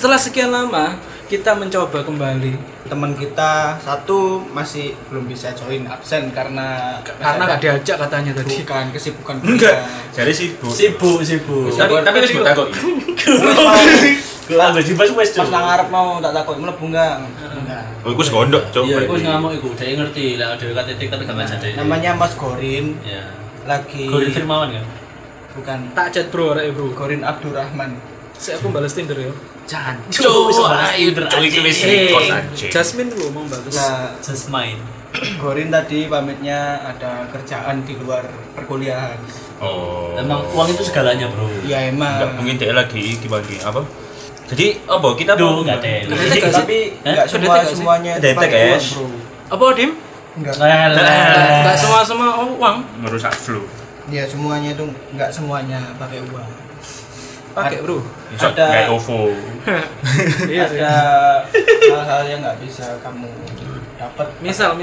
Setelah sekian lama kita mencoba kembali. Teman kita satu masih belum bisa join, absen karena Nggak diajak katanya tadi. bukan kesibukan Enggak. kita. Jadi sibuk. Sibuk. Tapi wis tak kok. Lah wis dibahas wis. Pas nang ngarep mau tak takut mlebu enggak? Enggak. Oh, iku segondok, Cuk. Iya, iku ngamuk iku, dhek ngerti lah dhewe titik tapi gak ngajak dhek. Namanya Mas Gorin, Iya. lagi Gorin Firmawan kan? bukan Tak chat bro, arek bro. Gorin Abdurrahman. Saya aku balas Tinder ya. Jancuk, Ayo, Cuk, iki wis kos anjing. Jasmine lu mau bagus. Nah, just main. Gorin tadi pamitnya ada kerjaan di luar perkuliahan. Oh. Emang uang itu segalanya, Bro. Ya Enggak, emang. mungkin dia lagi dibagi apa? Jadi apa kita Duh, mau enggak deh. Tapi enggak semuanya Ada pakai uang, cash. bro. Apa Dim? Enggak. Enggak semua uang. merusak flu. Ya semuanya itu enggak semuanya pakai uang. Pakai bro. Bisa Ada- kayak OVO. Iya sih. Ada hal-hal yang nggak bisa kamu dapat. Misal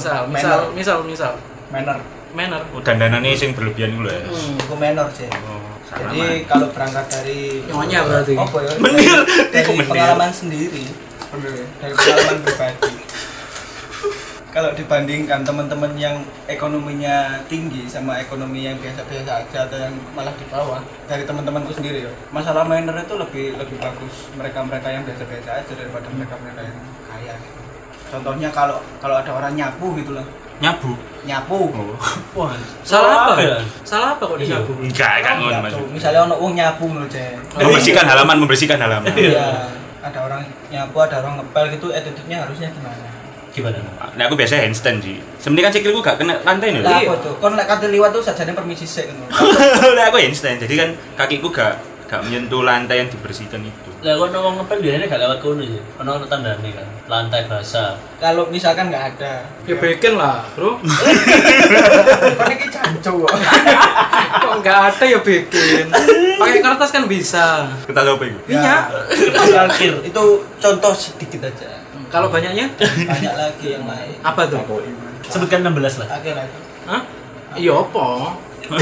manner. Oh, dandanane sing berlebihan iku lho ya. Itu manner sih. Oh, salah. Jadi kalau berangkat dari Nyonya berarti. apa ya? Menir. Dari Iku menir. pengalaman sendiri. Sebenarnya dari pengalaman pribadi. Kalau dibandingkan teman-teman yang ekonominya tinggi sama ekonomi yang biasa-biasa aja atau yang malah di bawah, dari teman-temanku sendiri ya, masalah manner itu lebih bagus mereka-mereka yang biasa-biasa aja daripada mereka-mereka yang kaya gitu. Contohnya kalau ada orang nyapu gitu loh. Nyabu. Nyapu. Oh. Wah, Salah apa? ya? Salah apa kok Iya. disabu? Enggak, kan ngono Mas. Misalnya ono wong nyapu lho, Cek. Membersihkan halaman. Iya. Ada orang nyapu, ada orang ngepel gitu, attitude-nya harusnya gimana? Gimana? Nah, aku biasa handstand sih. Sebenarnya kan sikilku gak kena lantai nih. Lah apa tuh? Kon lek kate liwat tuh sajane permisi sik ngono. Lah aku handstand. Jadi kan kakiku gak menyentuh lantai yang dibersihkan itu. Lah kok wong ngepel biasanya gak lewat kono ya. Ono tandane kan. Lantai basah. Kalau misalkan nggak ada, Ya bikin lah bro. kon iki jancuk kok. Kok nggak ada ya bikin. Pakai kertas kan bisa. Kita coba itu. Iya. Akhir. Itu contoh sedikit aja. Kalau banyaknya Banyak lagi yang lain. apa tuh? Sebutkan 16 lah. Oke lah. Hah? Iya apa?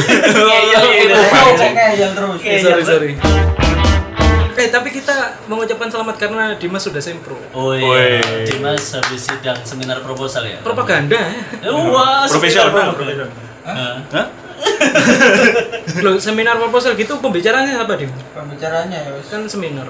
Ngeyel terus. Sorry. Tapi kita mengucapkan selamat karena Dimas sudah sempro. Oh Woi. iya. Dimas habis sidang seminar proposal ya. Propaganda. Wah, Profesional. Hah? Loh, seminar proposal gitu pembicaraannya apa, Dim? Pembicaranya ya wis. Kan seminar.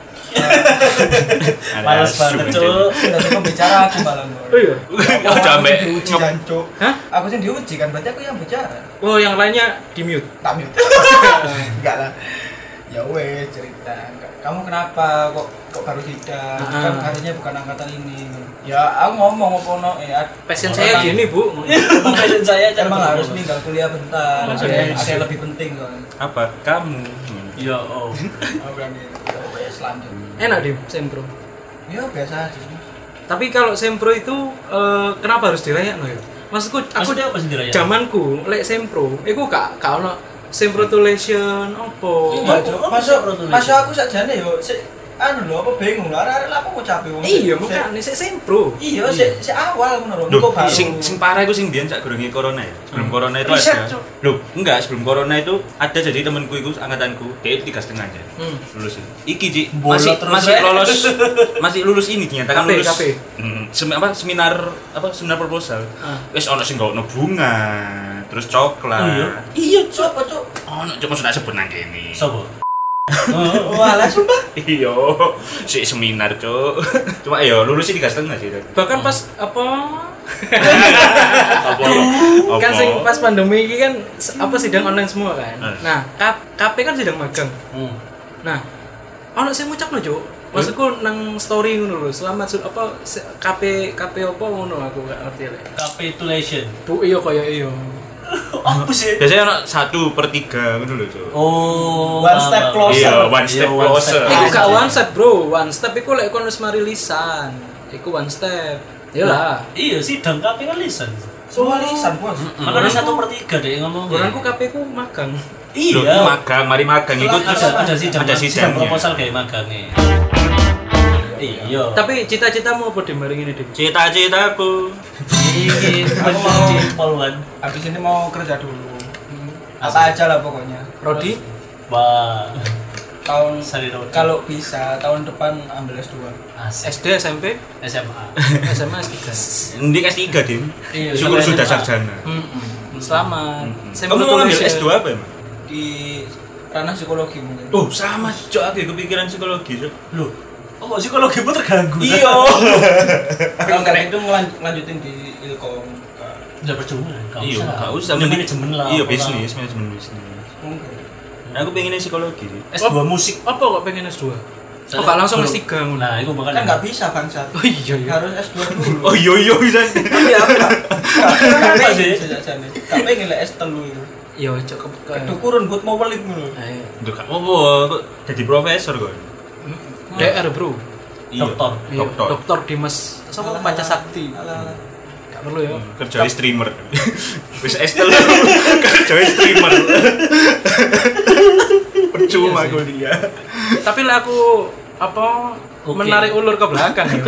Males banget, Cuk. Sudah pembicara aku malah. Oh iya. Oh, jambe. Diuji jancuk. Hah? Aku sih diuji kan, berarti aku yang bicara. Oh, yang lainnya di mute. Tak mute. Enggak lah. Ya wes cerita. Kamu kenapa kok baru sidang? Kan harusnya bukan angkatan ini. Ya aku ngomong apa Passion saya gini, Bu. Passion saya cara emang harus berproses. ninggal kuliah bentar. Ada yang lebih penting soalnya. Apa? Kamu. Ya oh. Aku bilang gitu. Ya selanjutnya. Enak, Dim, sempro. Ya biasa aja sih. Tapi kalau sempro itu kenapa harus dirayakno ya? Maksudku aku Maksudnya apa sih dirayakno? zamanku lek sempro, iku gak ono semprotulation opo. Iya, Oh, masuk aku sakjane yo anu lho apa bingung lho arek apa ngucapi wong. Iya, makane sik sempro. Iya, sik awal ngono lho. Loh, Engko baru. sing parah itu sing biyen sak gurunge corona ya. Sebelum corona itu Riset, ada. Cuk. Loh, enggak, sebelum corona itu ada jadi temanku itu angkatanku, dia itu 3,5 aja. Lulus ini. Iki Ci, Bolot masih terus, masih Rek. lolos. Masih lulus ini dinyatakan KP, lulus. KP. Seminar proposal. Wis ono sing gawe bunga, terus coklat. Iya, Cuk, apa Cuk? Ono cuma sudah sebut nang kene. Sopo? Walah sumpah. Iya, si seminar, Cuk. Cuma ya lulus 3,5 sih. Bahkan pas apa Apa? kan sing pas pandemi ini kan apa sidang online semua kan. Hmm. Nah, KP kan sidang magang. Nah, ono sing ngucapno, Cuk. Maksudku nang story ngono lho, selamat KP apa ngono aku gak ngerti lek. Capitulation. Bu iya kaya iya. Apa sih? Biasanya ono 1/3 ngono lho, Cuk. Oh, One step closer. Iya, one step closer. Iku gak one step, Bro. One step iku lek kon wis mari lisan. Iku one step. Yalah. Iya, sidang KP kan lisan. Soal lisan, Bos. Makanya 1/3 deh ngomong. Bulanku KP ku magang. Loh, Iya. mari magang itu Ada sidang. ada Sidang sidangnya. proposal kayak magangnya. Iya. Tapi cita-citamu apa di maring ini, Dim? Cita-citaku. Ini Aku mau- poluan. Habis ini mau kerja dulu. Apa aja lah pokoknya. Rodi? Wah. kalau bisa tahun depan ambil S2. SD, SMP, SMA. SMA S3. Ini S3 Dim. Iya, Syukur sampai sudah SMA. sarjana. Selamat. Kamu mau ambil S2 apa emang? Di ranah psikologi mungkin. Oh, sama cok aku kepikiran psikologi cok. Loh, oh psikologi pun terganggu. Iya. Kalau nggak itu lanjutin di Ilkom. Udah percuma. Iya, enggak usah. Manajemen lah. Iya, apalah. manajemen bisnis. Mungkin. Nah, aku pengennya psikologi sih. S2 musik. Apa kok pengen S2? Oh, gak langsung S3 ngono. Nah, itu Kan makanya. nggak bisa bangsa. Oh iya iya. Harus S2 dulu. Oh iya bisa. Tapi aku Apa sih? Gak pengen lah S3 itu. Iya, cukup Kedukuran buat mau balik dulu. Ayo. Untuk kamu apa? Jadi profesor kok. DR, Bro. Iya. Doktor. Iya, Doktor. Dokter Dimas sama Panca Sakti. Alah. Gak perlu ya. Kerja streamer. Wis S3 kerja streamer. Percuma kuliah. Tapi lah aku apa menarik ulur ke belakang ya.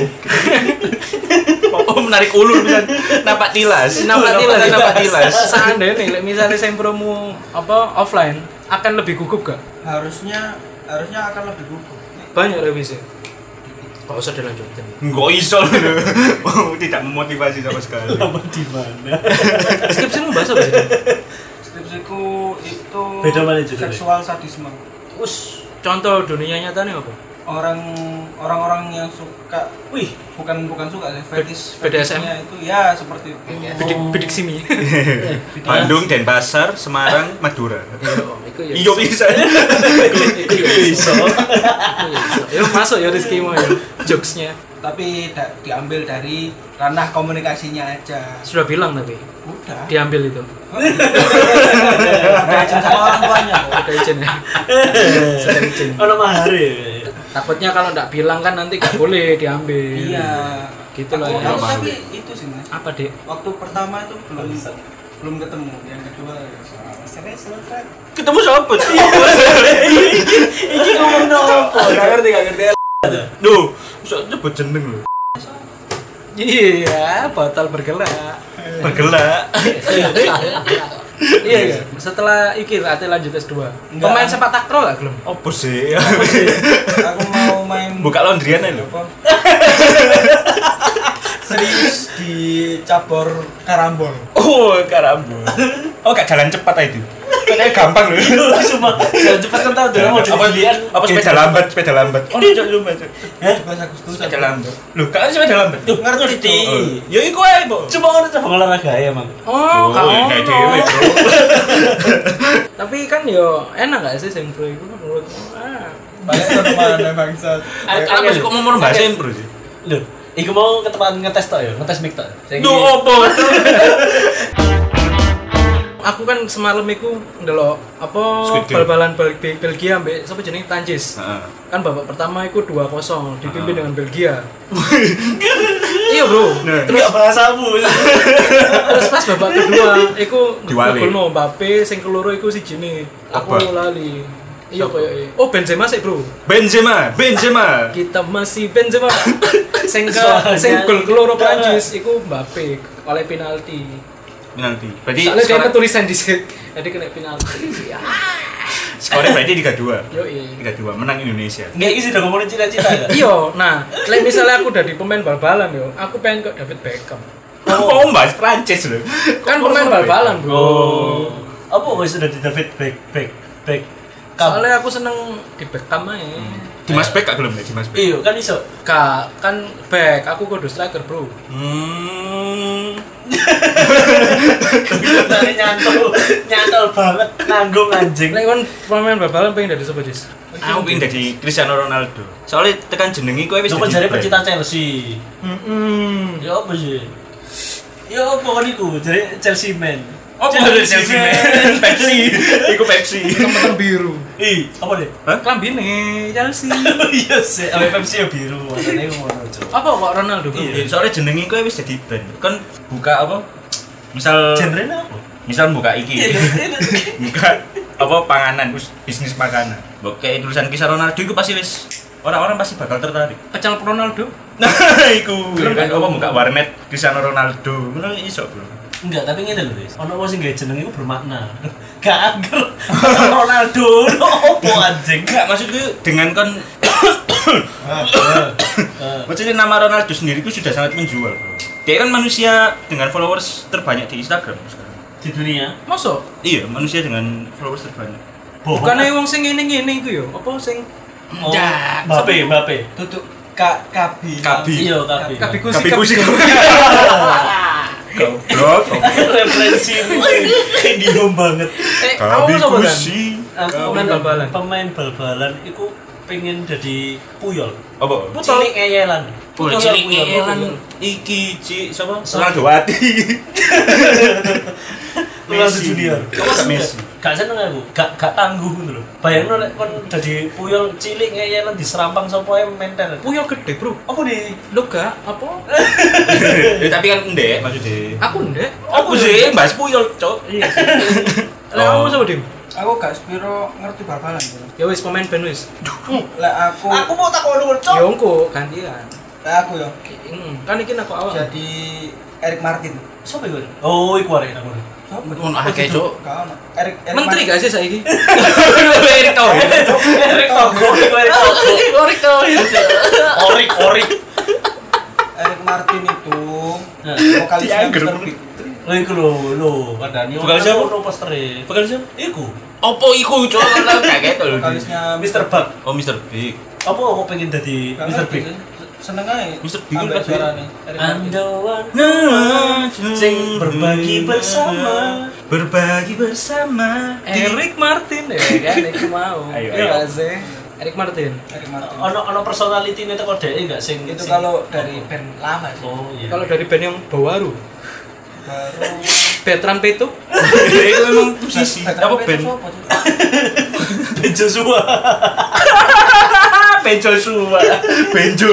Oh, menarik ulur bisa napak tilas. Napak tilas. Seandainya nih, misalnya sempromu apa offline akan lebih gugup gak? Harusnya akan lebih gugup. Banyak revisi. Gak usah dilanjutin. Enggak iso lho. Tidak memotivasi sama sekali. Apa di mana? Skripsimu bahasa apa sih? Skripsiku itu Beda mana juga, seksual sadisme. Us, contoh dunia nyatanya apa? Orang-orang yang suka, bukan suka sih, BDSM? fetishnya itu ya seperti BDSM. Bidik simi. Bandung, Denpasar, Semarang, Madura. Iku ya. Iya bisa. Iku iso. Ya masuk ya Rizky mau ya jokesnya. Tapi diambil dari ranah komunikasinya aja. Sudah bilang tapi Udah. diambil itu. Udah izin sama orang tuanya kok. Udah izin ya. Sudah izin. Ono mahari. Takutnya kalau nggak bilang kan nanti nggak boleh diambil. Iya. Gitu lah ya. Aku tapi itu sih Mas. Apa dek? Waktu pertama itu belum ketemu. Yang kedua ya serius. Ketemu siapa? Iki ngomong nopo? Gak ngerti. Duh, bisa nyebut jeneng lho. Iya, botol bergelak. Bergelak. Iya ya. Setelah iki ate lanjut S2. Enggak. Pemain sepak takraw gak belum? Apa sih? Aku mau main Buka laundryan aja lho. apa? Serius di cabur karambol. Oh, karambol. Oh, gak jalan cepat aja itu. Katanya gampang lho. Cuma jangan cepat kan tahu dia mau jadi Apa sepeda lambat? Oh, coba. 17 Agustus. Sepeda lambat. Loh, kan sepeda lambat. Duh, ngerti. Ya iku ae, Bo. Cuma kan coba olahraga ya, Mang. Oh, kayak dewe, Bro. Tapi kan yo enak gak sih sempro itu menurutmu? Balik ke mana bangsat? Aku masih kok mau bahasa impro sih. Loh, iku mau ke tempat ngetes tok ya, ngetes mic tok. Duh, opo? Aku kan semalam iku ndelok apa Squid Game. bal-balan Belgia ambek sapa jenenge Prancis. Heeh. Kan babak pertama iku 2-0 dipimpin dengan Belgia. Iya, Bro. Terus bahasamu. Terus pas babak kedua iku Diwali. golno Mbappe sing keloro iku sijine. Aku Apa? lali. Iya koyo oh Benzema sih, Bro. Benzema. Kita masih Benzema. Sing Soalnya- gol keloro Prancis iku Mbappe oleh penalti. Nanti. Berarti Soalnya dia skor- tulisan di situ. Jadi kena penalti. skornya berarti 3-2. Yo iya. 3-2 menang Indonesia. Nggak isi udah ngomongin cita-cita ya? Iya, nah, like misalnya aku udah di pemain bal-balan yo, aku pengen ke David Beckham. Oh, bahas Prancis loh. Kan pemain bal-balan, Bro. Oh. Apa wis sudah di David back. Soalnya aku seneng di Beckham aja. Dimas Beck gak gelem ya Dimas Beck. Iya, kan iso. Kak, kan back, aku kudu striker, Bro. Dari nyantol banget nanggung anjing. Like kan pemain bal-balan pengen dari siapa, Jis? Aku pengen jadi Cristiano Ronaldo. Soalnya tekan jenengi kowe wis Lu kan jadi jare brand. pecinta Chelsea. Ya apa sih? Ya apa kan iku jare Chelsea man. Oh, dari Chelsea man. Pepsi. Iku Pepsi. Temen biru. Ih, apa deh? Hah? Klambine Chelsea. Iya sih, ame Pepsi ya biru. Maksudnya ngono, Cuk. Apa kok Ronaldo, Bro? Iya, soalnya jenengi kowe wis jadi brand. Kan buka apa? Misal Genre apa? misal buka iki. Buka apa panganan, bisnis makanan. Oke, tulisan kisah Ronaldo itu pasti wis orang-orang pasti bakal tertarik. Pecel Ronaldo. Nah, iku. Belum Kan kan? apa buka warnet Cristiano Ronaldo. Ngono iso, Bro. Enggak, tapi ngene lho, Wis. Ono wong sing gawe jeneng iku bermakna. Gak angger Ronaldo opo anjing. Enggak, maksudku dengan kon maksudnya nama Ronaldo sendiri itu sudah sangat menjual, bro. Dia kan manusia dengan followers terbanyak di Instagram sekarang. Di dunia. Masa? Iya, manusia dengan followers terbanyak. Bukannya wong sing ngene-ngene iku yo, apa sing Oh, Mbappe. Tutup Kabi. Iya, Kabi. Kabi kusi. Goblok. Referensi Indigo banget. Kabi apa kusi. Pemain bal-balan iku pengen jadi Puyol. Apa? Cilik ngeyelan. Cilik ngeyelan iki sapa? Ronaldowati. Ronaldo Junior. Kamu gak Messi? Gak seneng aku, gak tangguh ngono lho. Bayangno nek kon dadi Puyol cilik ngeyelan diserampang sapa ae menten. Puyol gede, Bro. Apa di? Lo gak apa? Ya tapi kan ndek maksudnya. Aku ndek. Aku sih bahas Puyol, Cok. Iya sih. Lah kamu sama Dim? Aku gak sepiro ngerti bal-balan. Ya wis pemain band wis. Lek aku mau takon lu, Cok. Ya engko gantian. lek aku yo Kan iki aku awal. jadi Eric Martin. Sopo iku? Oh, iku arek aku. Sopo? Ngono akeh, Cuk. Gak ono. Eric Menteri Martin. gak sih saiki? Erick Thohir. Eric Thohir, Orik to. Orik. Eric Martin itu Nah, vokalisnya Mr. Big. Lho iku lho, padane Vokalis siapa? ono postere. Vokalis siapa? Iku. Opo iku, Cok? Kan kaget lho. Vokalisnya Mr. Bug. Oh, Mr. Big. Apa kok pengen dadi Gak Mr. ngerti Big? sih. Seneng aja Mr. Big ambek kan suarane Eric Martin. Andawan Nah, sing berbagi bersama. Berbagi bersama. Eric Martin ya kan itu mau. Ayo, Iya ayo. gak sih? Eric Martin. Eric Martin Ono personality-ne teko dhek enggak sing itu sing- kalau dari band lama sih Oh iya. Kalau dari band yang baru, baru Betran Petuk. Itu memang musisi. Apa band? Ben Joshua. Benjo Suwa. Benjo.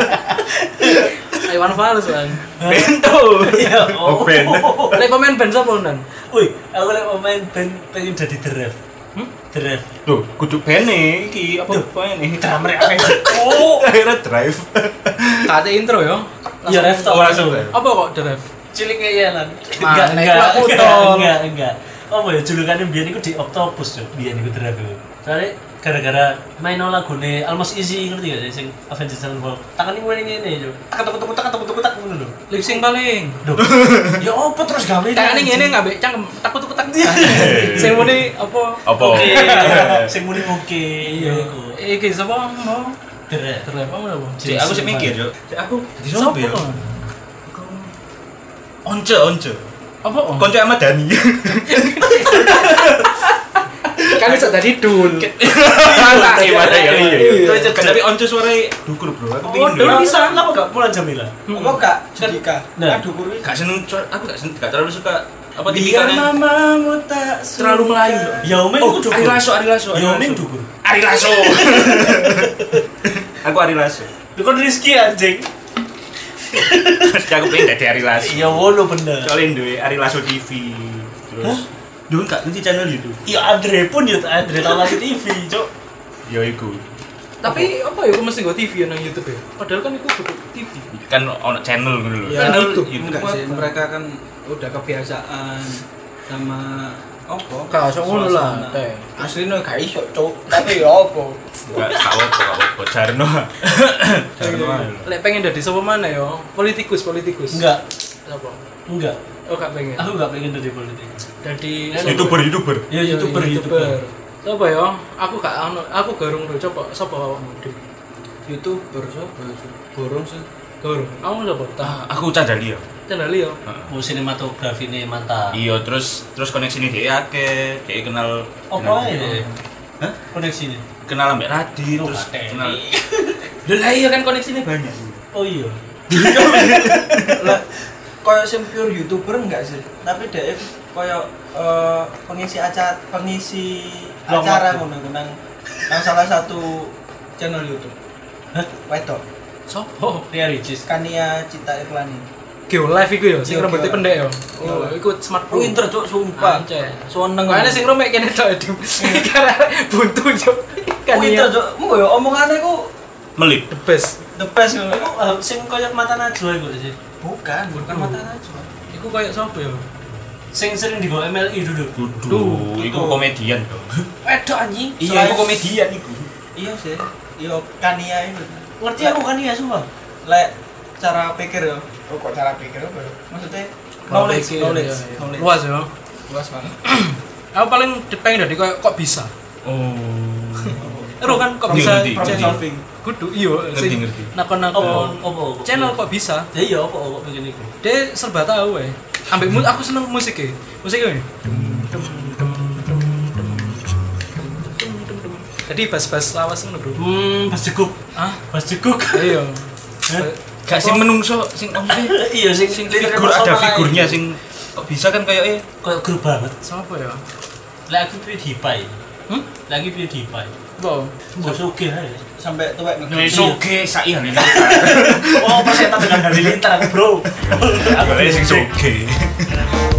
Iwan Fals kan. Bento. Iya. Oh, band. Lek pemain band sapa Nan? Wih, aku lek pemain band pengen jadi The Ref. The Ref. Tuh, kudu bene iki apa bene? Drummer akeh. Oh. Akhirnya drive. Kate intro ya. Iya, Ref tau. Oh, langsung. Apa kok The Ref? Cilik ngeyelan. Mana, iku aku tol. Enggak. Apa ya julukannya biyen iku di Octopus, Cuk. Biyen iku The Ref iku. Soale gara-gara main lagune Almost Easy ngerti gak sih sing Avenged Sevenfold. Tangan iki ngene Cuk. Tak ngono lho. Lip sync paling. Duh. Ya apa terus gawe Tangan ini ngene ngambek cangkem takut-takut. Sing muni apa? Apa? Oke. Sing muni oke. Iya. Iku. Iki sapa mau? The Ref. The Ref apa? Cek, aku sih mikir, Cok. Cek, aku di Sapa? sopo ya? Once. Apa? Konco sama Dani. Kan iso tadi dul. Gimana ya? Iya. Kan tapi once suaranya dukur, Bro. Aku Oh, pingin dulu dulu. bisa. Kenapa gak Mulan Jamila? apa kak Judika Nah. aduh kurus Gak seneng, aku gak terlalu suka apa Biar tipikalnya. mamamu tak Terlalu Melayu, Bro. Yaomen Oh, iku dukur. Ari Lasso. Yaomen dukur. Ari Lasso. Aku Ari Lasso. Dukur Rizky anjing. Mesti aku pengen dadi Ari Lasso. Ya wono bener. Soalnya duwe Ari Lasso TV. Terus dulu gak ngerti channel YouTube. Ya Andre pun ya Andre Talasi TV, Cuk. Ya iku. Tapi apa ya aku mesti go TV nang YouTube ya? Padahal kan iku kudu TV. Kan ono channel ngono lho. Ya, Channel YouTube. enggak sih mereka kan udah kebiasaan sama apa Gak iso ngono lah, suasana. Teh. aslinya gak iso cuk tapi ya apa Gak apa-apa. Jarno. Jarno. Lek pengen dadi sapa mana ya? Politikus. Enggak. Apa? Enggak. Oh gak pengen. Aku enggak pengen jadi politik. Dadi YouTuber. Ya YouTuber. Sapa ya? Aku gak garung lho coba sapa awakmu? youtuber siapa borong sih Garung. Kamu sapa? Tah. Aku Candali ya. Candali ya. Oh, sinematografi ini mantap. Iya, terus koneksi ini dia akeh, dia kenal Apa ae? Hah? Koneksi ini. Kenal ambek Radi, Oh, terus Radi. kenal. Lah iya kan koneksinya banyak. Oh iya. lah koyo sing pure youtuber enggak sih tapi dia koyo pengisi acara Long waktu. ngono nang salah satu channel YouTube Hah? wedok Sopo? Ria Ricis. Kania Cita Iklani Geo live iku ya, sing Iya, rambutnya Geo pendek ya. Geo Oh, live. iku smart pro. pinter cuk sumpah Anjay. seneng Kayaknya sing romek kene tok Dim. Karena buntu cuk. Kan pinter iya. cuk mbok yo omongane ku Melip. The best. the best ngono Iku sing koyo mata najwa iku sih. bukan mata najwa Iku kayak sapa ya? Sing sering di MLI dulu. Duh, iku komedian dong. Wedok anjing. Iya, iku komedian iku. Iya sih. Iya Kania itu. Ngerti aku kan ya sumpah. Lek cara pikir ya. Oh kok cara pikir apa ya? Maksudnya knowledge. Luas ya. Luas banget. Aku paling pengen dari kok bisa. Oh. Ero kan kok Ngerti, bisa ngerti. Problem solving. kudu iya sing Ngerti. nakon-nakon Opo? channel kok bisa. Ya iya opo begini iku. Dia serba tahu ambek aku seneng musik ini. Jadi bas-bas lawas ngono, Bro. Bas jeguk. Bas jeguk. Iya. Gak sing menungso sing Iya sing figur ada figurnya sing kok bisa kan kayak kayak grup banget. Siapa ya? Lagi pilih dipai. Lagi pilih dipai. Wow. Mbok sugih ae. Sampai tuwek Wis oke sak iya nih. Oh, persetan dengan halilintar aku, Bro. Aku sing soge.